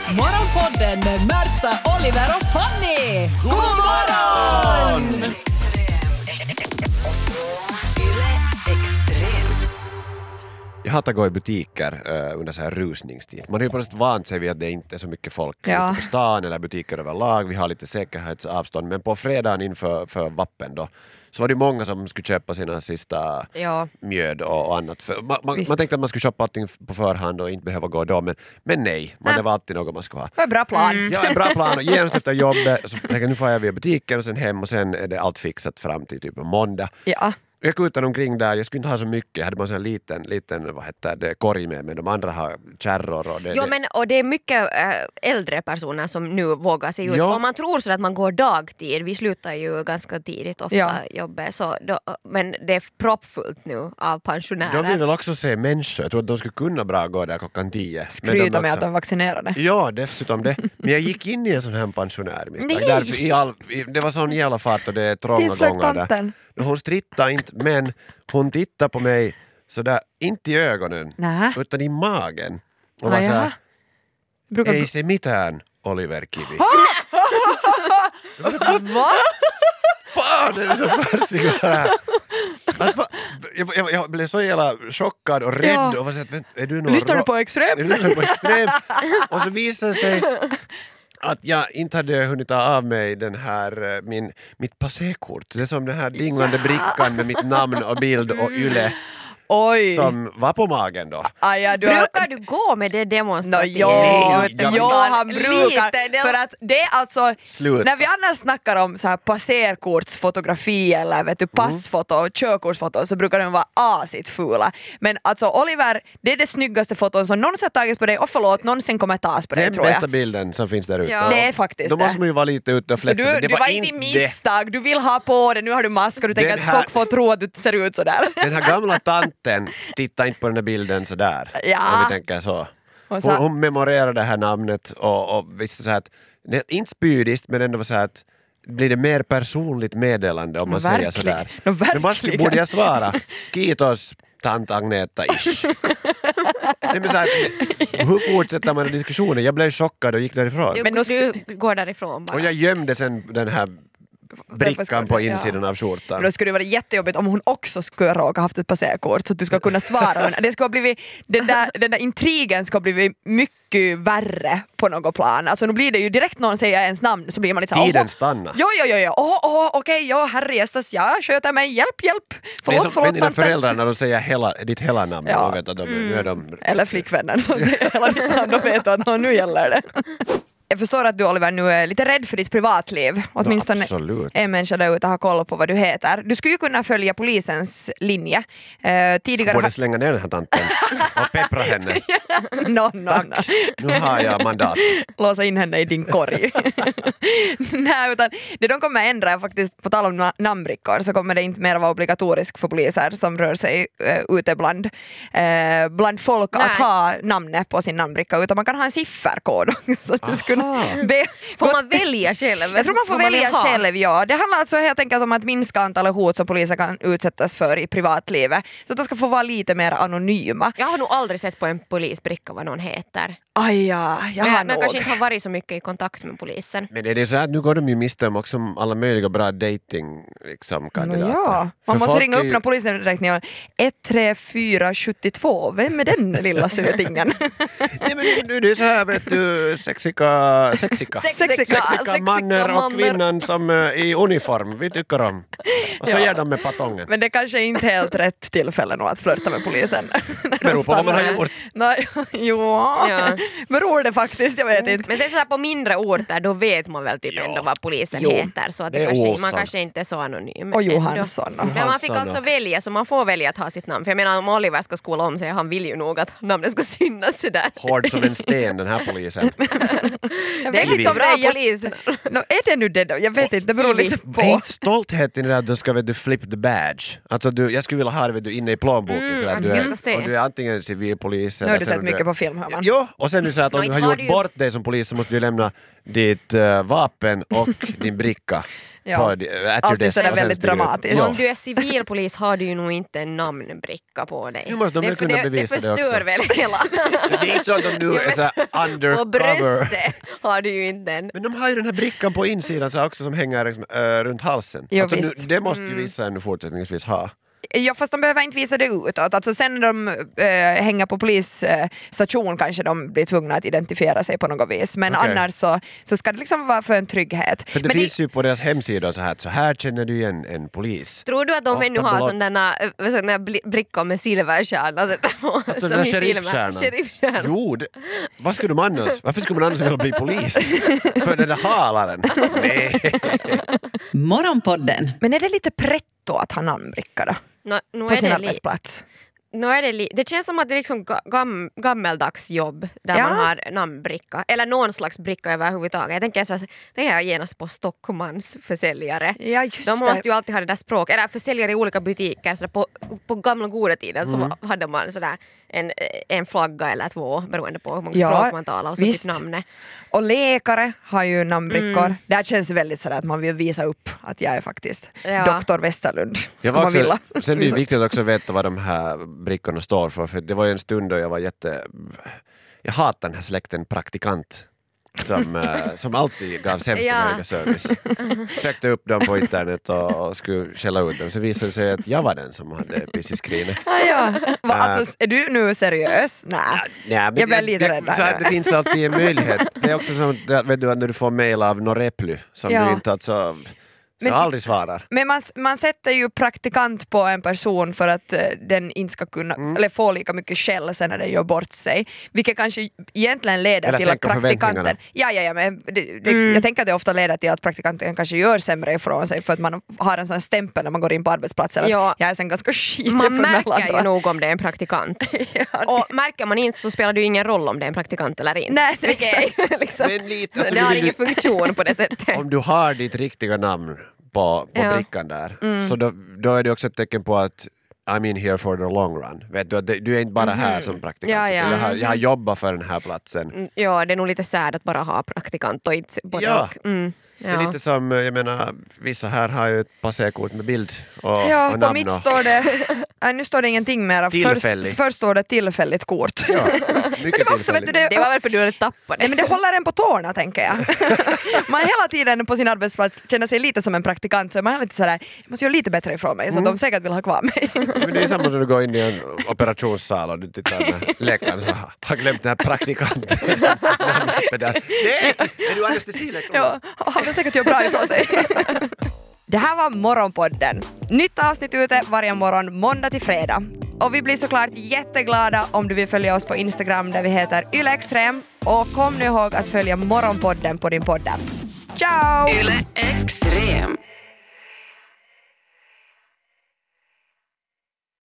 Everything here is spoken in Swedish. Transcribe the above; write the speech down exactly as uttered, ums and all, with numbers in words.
Morgonpodden med Märta, Oliver och Fanny! God morgon! Jag hatar att gå i butiker uh, under så här rusningstid. Man har ju på något sätt vant sig vid att det inte är så mycket folk Ja. ute på stan eller butiker överlag. Vi har lite säkerhetsavstånd. Men på fredagen inför för vappen då, så var det många som skulle köpa sina sista Ja. mjöd och, och annat. För man, man, Visst. man tänkte att man skulle köpa allting på förhand och inte behöva gå då. Men, men nej, man, det var alltid något man skulle ha. Det var en bra plan. Ja, en bra plan. Och genast efter jobbet så tänkte jag, nu får jag via butiken och sen hem och sen är det allt fixat fram till typ måndag. Ja. Jag gick utan omkring där, jag skulle inte ha så mycket, jag hade bara en sån liten, liten vad heter det, korg med, men de andra har kärror och det, Jo, det. men och det är mycket äh, äldre personer som nu vågar sig ut. Ja. Om man tror så att man går dagtid, vi slutar ju ganska tidigt ofta Ja. jobbet, så då, men det är proppfullt nu av pensionärer. De vill väl också se människor, jag tror att de skulle kunna bra gå där klockan tio. Men Skryta de med också- att de är vaccinerade. Ja, dessutom det. Men jag gick in i en sån här pensionärmisstag. Nej! Därför i all, i, det var sån jävla fart och det är trånga Tillflökt gångar där. tanten. Och hon strittade inte, men hon tittade på mig sådär, inte i ögonen, Nä. utan i magen. Och Ah, var jaha. såhär, Brukar... ei se mitään, Oliver Kivi. Va? Fan, det är så färsigt här. Alltså, jag, jag, jag blev så jävla chockad och rädd Ja. och var så att, är du någon Lyssnar du ro- på Extrem? Är du lyssnar på Extrem? Och så visade det sig att jag inte hade hunnit ta av mig den här, eh, min, mitt passekort. Det är som den här dinglande brickan med mitt namn och bild och yle Oj. som var på magen då. Ah, ja, du har... Brukar du gå med det No, demonstrativt? jo, Nej, jo, jag- han brukar. Lite, det- För att det är alltså, Slut. när vi annars snackar om så här passerkortsfotografi eller vet du, passfoto och körkortsfoto så brukar de vara asigt fula. Men alltså Oliver, det är det snyggaste foton som någonsin har tagits på dig och förlåt, någonsin kommer tas på dig Den tror jag. bästa bilden som finns där ute. Ja. Det är faktiskt Då måste det. man ju vara lite ute och Så flexa. du, men det du var inte i misstag, du vill ha på det, nu har du mask och du tänker Den att här- folk får tro att du ser ut sådär. Den här gamla tanten tittar inte på den här bilden sådär. Ja. Om vi tänker så. Och så- Hon, hon memorerade det här namnet och, och visste så här att, det är inte spydiskt men ändå var så här att blir det mer personligt meddelande om man No, säger verkligen. sådär. No, Men vad skulle- verkligen. borde jag svara? Kiitos tant Agneta-ish. Nej, men så här, hur fortsätter man diskussionen? Jag blev chockad och gick därifrån. Du, Men då du går därifrån bara. Och jag gömde sen den här brickan på insidan Ja. av skjortan. Men då skulle det vara jättejobbigt om hon också skulle råka haft ett passerkort så att du ska kunna svara. Men det skulle ha blivit, den, där, den där intrigen ska ha blivit mycket värre på något plan. Alltså nu blir det ju direkt någon säger ens namn så blir man lite såhär Tiden "Åh, stannar. Jo, jo, jo, jo. Åh, åh, okej, ja, herrejestas, ja, sköter mig, hjälp, hjälp. Det är Förlåt, som förlåt, dina tante." föräldrar när de säger hela, ditt hela namn. Ja. Och vet att de, nu är de... Eller flickvännen som säger hela ditt namn, då vet du att "Nå, nu gäller det. Jag förstår att du Oliver nu är lite rädd för ditt privatliv. Åtminstone absolut. en människa där ute har koll på vad du heter. Du skulle ju kunna följa polisens linje. Uh, tidigare Borde har... slänga ner den här tanten och peppra henne. no, no, no. Nu har jag mandat. Låsa in henne i din korg. Nej, utan det de kommer ändra är faktiskt, på tal om na- namnbrickor, så kommer det inte mer vara obligatoriskt för poliser som rör sig uh, ute bland, uh, bland folk Nej. att ha namnet på sin namnbricka, utan man kan ha en sifferkod. Så du skulle be, Får man välja själv? jag tror man får Vad välja vill ha? själv, ja. Det handlar alltså helt enkelt om att minska antalet hot som poliser kan utsättas för i privatlivet. Så att de ska få vara lite mer anonyma. Jag har nog aldrig sett på en polisbricka vad någon heter. Aj ja, jag Men har jag, men nog. kanske inte har varit så mycket i kontakt med polisen. Men är det så här att nu går de ju miste om också alla möjliga bra dating liksom, kandidater? Ja, För man måste folk ringa är upp ju- när polisen räknar ett tre fyra sju två. Vem är den lilla sötingen? Nej men nu det är så här vet du, sexika, sexika. Sexika, Sexika mannen och manner. kvinnan som är i uniform, vi tycker om. Och så Ja. ger de med patongen. Men det kanske är inte helt rätt tillfälle nog att flirta med polisen. Beror på vad man har Stannar. gjort. Nej, jo, Ja. beror det faktiskt, jag vet inte. Men sen så här på mindre orter då vet man väl typ ändå vad polisen Jo. heter så att det Det är kanske, man Olsson. kanske inte är så anonym. Och ändå. Johansson. Men man fick Johansson alltså och- välja, så man får välja att ha sitt namn. För jag menar om Oliver ska skola om sig, han vill ju nog att namnet ska synas sådär. Hård som en sten den här polisen. Jag Det är vet inte lite om det bra är jätte- polis. No, är det nu det då? Jag vet inte, det beror lite på. Det är inte stolthet i det där att du ska vet du, flip the badge. Alltså du, jag skulle vilja ha det vet du, inne i plånboken Mm, sådär, att du jag är, ska se. och du är antingen civilpolis Nu har du sen sett om mycket på film, hör man. Jo, och sen är det så att om Nå, du inte har har gjort du ju- bort dig som polis så måste du lämna ditt uh, vapen och din bricka. Ja. på, at your Alltid desk sådär och sen väldigt stiger ut. dramatiskt. Ja. Om du är civilpolis har du ju nog inte en namnbricka på dig. Nu måste de det, väl kunna det, bevisa det det förstör också. väl hela... Det är inte så att de nu Ja, är men så här På undercover. bröstet har du ju inte en. Men de har ju den här brickan på insidan så också som hänger liksom, äh, runt halsen. Jo, alltså, nu, visst. det måste ju vissa ännu fortsättningsvis ha. Ja, fast de behöver inte visa det utåt. Alltså sen när de äh, hänger på polisstation kanske de blir tvungna att identifiera sig på något vis. Men Okej. annars så, så ska det liksom vara för en trygghet. För det Men finns ju på deras hemsida så här att så här känner du igen en polis. Tror du att de Ofta ännu har blott- sådana såna brickor med silverstjärna? Så Alltså den här sheriffstjärnan. Sheriffstjärnan. Jo, det, vad skulle de annars? Varför skulle man annars vilja bli polis? För den där halaren? Nej. Morgonpodden. Men är det lite pretto att ha namnbricka då? No, nu På är sin det li- arbetsplats? Nu är det, li- det känns som att det är liksom ga- gam, gammeldags jobb där Ja. man har namnbricka. Eller någon slags bricka överhuvudtaget. Jag tänker så det är genast på Stockmans försäljare. Ja, just De det. måste ju alltid ha det där språket. Eller försäljare i olika butiker. Så på, på gamla goda tiden så hade man sådär en, en flagga eller två beroende på hur många Ja, språk man talar och så visst. typ namnet. Och läkare har ju namnbrickor. Mm. Där känns det väldigt sådär att man vill visa upp att jag är faktiskt Ja. doktor Westerlund. Jag Om var man vill. också, sen är det viktigt också att veta vad de här brickorna står för. För det var ju en stund då jag var jätte... Jag hatar den här släkten praktikant. Som, eh, som alltid gav sämsta Ja. möjliga service. Sökte upp dem på internet och, och skulle skälla ut dem. Så visade det sig att jag var den som hade piss i skrinet. Ah, ja. Va, alltså, är du nu seriös? Nej. Nej, men Jag blir lite det, rädd där så att nu. det finns alltid en möjlighet. Det är också som det, vet du, när du får mejl av Norreply som Ja. du inte alltså, så Men- aldrig svarar. Men man, man sätter ju praktikant på en person för att eh, den inte ska kunna, Mm. eller få lika mycket skäll sen när den gör bort sig. Vilket kanske egentligen leder Eller till att sänka praktikanten... förväntningarna. Ja, ja, ja, men det, det, jag tänker att det ofta leder till att praktikanten kanske gör sämre ifrån sig för att man har en sån stämpel när man går in på arbetsplatsen. Ja. Att jag är sen ganska skitig Man från alla märker ju andra. nog om det är en praktikant. Och märker man inte så spelar det ju ingen roll om det är en praktikant eller inte. Nej, Vilket är inte liksom, Men lite, alltså, det nu har vill ingen du- funktion på det sättet. Om du har ditt riktiga namn på, på Ja. brickan där så då, då är det också ett tecken på att I'm in here for the long run. Vet du, att det- du är inte bara här som praktikant. Ja, ja. Jag, har, jag har jobbat för den här platsen. Mm, Ja, det är nog lite sad att bara ha praktikant och inte både Ja. och. Mm, Det är ja. lite som, jag menar, vissa här har ju ett passerkort med bild och, Ja, och på namn. mitt Och, står det... Nej, nu står det ingenting mer. Tillfällig. Först, först står det tillfälligt kort. ja, mycket Det var också, vet du, tillfälligt. det, Det var väl för att du hade tappat det. Nej, men det håller en på tårna tänker jag. Man hela tiden på sin arbetsplats känner sig lite som en praktikant så man är lite sådär, jag måste göra lite bättre ifrån mig så att de säkert vill ha kvar mig. Men det är samma som du går in i en operationssal och du tittar när läkaren så har- har glömt den här praktikanten. Nej, är du anestesilektor? Ja, han vill säkert göra bra ifrån sig. Det här var Morgonpodden. Nytt avsnitt ute varje morgon måndag till fredag. Och vi blir såklart jätteglada om du vill följa oss på Instagram där vi heter ylextrem. Och kom nu ihåg att följa Morgonpodden på din podd. Ciao! Yle